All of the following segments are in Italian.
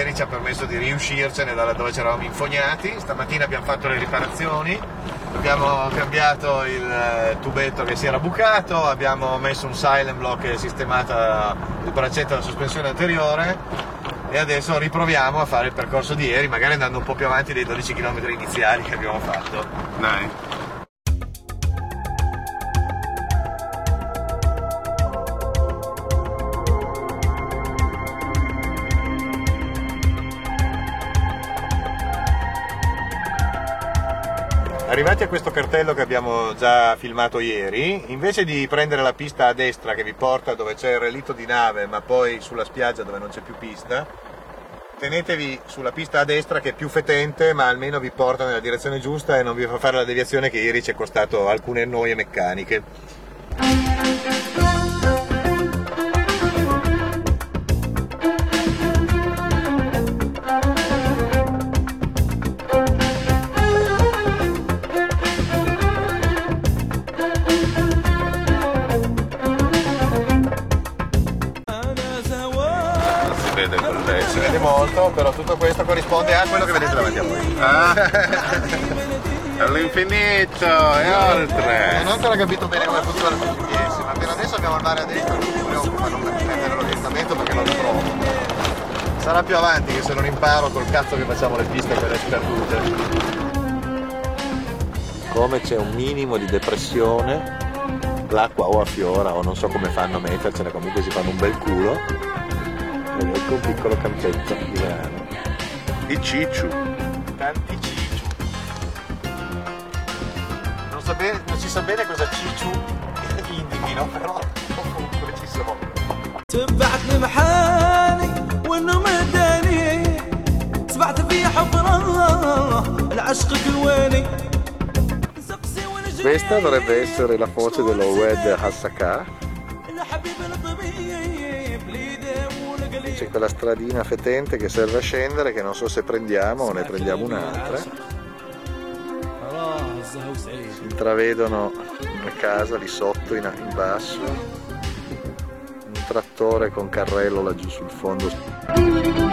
ieri ci ha permesso di riuscircene da dove ci eravamo infognati. Stamattina abbiamo fatto le riparazioni, abbiamo cambiato il tubetto che si era bucato, abbiamo messo un silent block e sistemato il braccetto della sospensione anteriore e adesso riproviamo a fare il percorso di ieri, magari andando un po' più avanti dei 12 km iniziali che abbiamo fatto. Dai. Arrivati a questo cartello che abbiamo già filmato ieri, invece di prendere la pista a destra che vi porta dove c'è il relitto di nave ma poi sulla spiaggia dove non c'è più pista, tenetevi sulla pista a destra che è più fetente ma almeno vi porta nella direzione giusta e non vi fa fare la deviazione che ieri ci è costato alcune noie meccaniche. Si vede molto, però tutto questo corrisponde a quello che vedete davanti a voi. All'infinito e oltre. Non ho ancora capito bene come funziona il GPS, ma per adesso abbiamo il mare a destra, non mi preoccupa non prendere l'orientamento perché non lo trovo. Sarà più avanti che se non imparo col cazzo che facciamo le piste quelle sperdute. Come c'è un minimo di depressione, l'acqua o affiora o non so come fanno a mettercene, comunque si fanno un bel culo. Ed ecco un piccolo campetto di grano. Di cicciu. Tanti cicciu. Non si sa bene cosa cicciu indichino, però comunque ci sono. تبعتني محاني وانه مداني سبعت في حفره العشق كواني. Questa dovrebbe essere la foce dell'Owed Hasaka. C'è quella stradina fetente che serve a scendere che non so se prendiamo o ne prendiamo un'altra. Si intravedono una casa lì sotto in basso, un trattore con carrello laggiù sul fondo.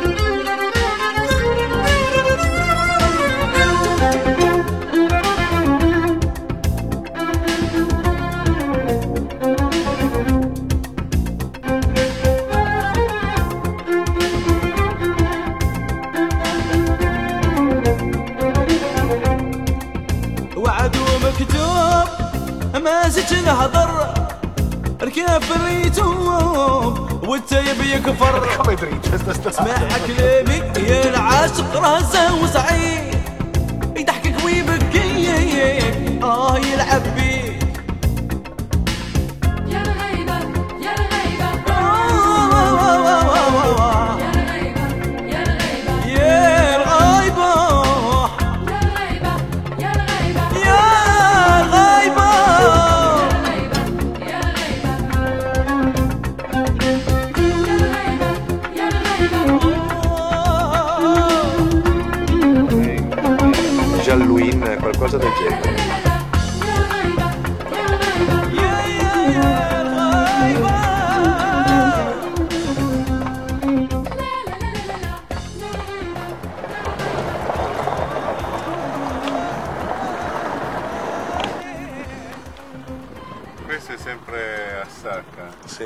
ماسك نهضر ركاب اليوتيوب والتايب يكفر اسمع كلامي يا العاشق راسه وسعيد يضحكك ويبكي يلعب بيك يا الغيبة يا الغيبة يا الغيبة يا الغيبة يا الغيبة يا الغيبة Jalluin, qualcosa del genere. Questo è sempre a sacca. Sì.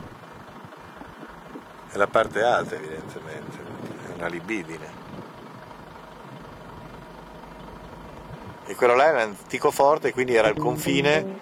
È la parte alta evidentemente, è una libidine. E quello là è un antico forte, quindi era il confine.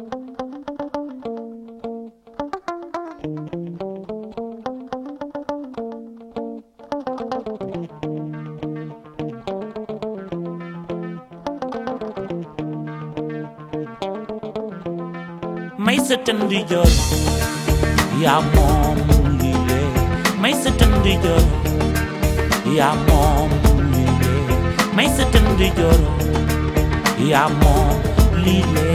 May sa tandijoor yaa moom lile may sa tandijoor yaa moom lile may sa tandijoor yaa moom lile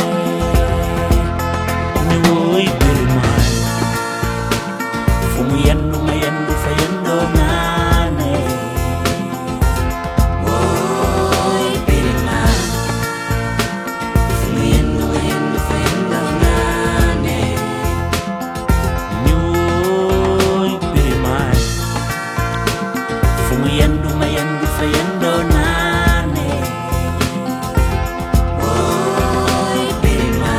ni woy birmaan fu mu yendu ma yendu fa yendoo naane woy birmaan fu mu yendu ma yendu fa yendoo naane ni woy birmaan fumu yendu mayendu fayendo nane. Oi Birima,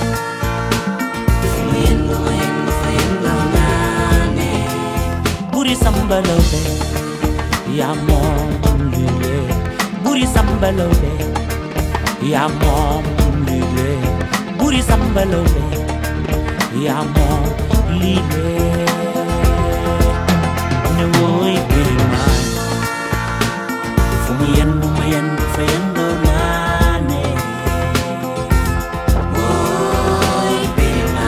fumu yendu mayendu fayendo nane. Buri sambalobe, ya mom lule. Buri sambalobe, ya mom lule. Buri sambalobe, ya mom lule. Ne woi Birima, fumu yendu mayendu fayendo nane. Woi Birima,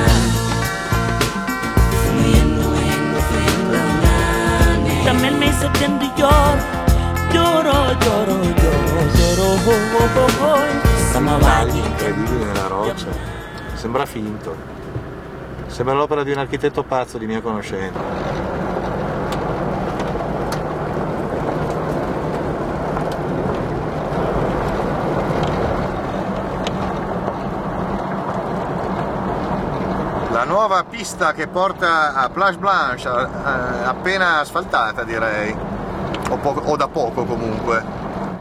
fumu yendu mayendu fayendo nane. Tamel me sa tendi jor, joro joro joro joro ho ho ho ho. Sama wali Incredibile nella roccia, sembra finto, sembra l'opera di un architetto pazzo di mia conoscenza. La nuova pista che porta a Plage Blanche, appena asfaltata direi, o da poco comunque.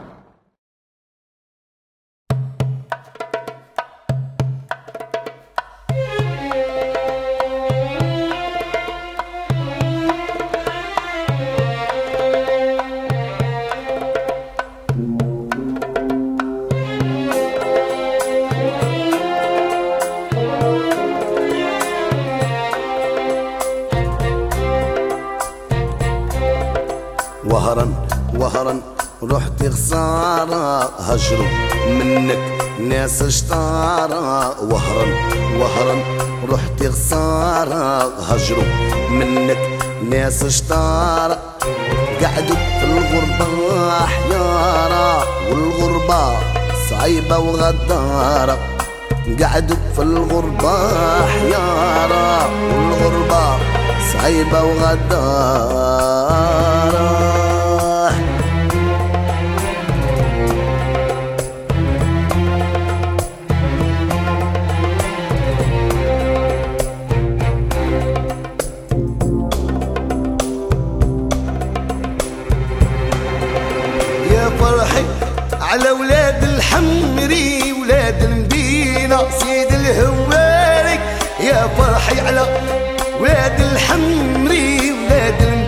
وهرا رحت خسارة هجروا منك ناس اشطارة. وهرا رحت خسارة هجروا منك ناس اشطارة. قعدوا في الغربة حيارة والغربة صعيبة وغدارة. قعدوا في الغربة حيارة والغربة صعيبة وغدارة. على ولاد الحمري ولاد المدينة سيد الهواري. يا فرحي على ولاد الحمري ولاد المدينة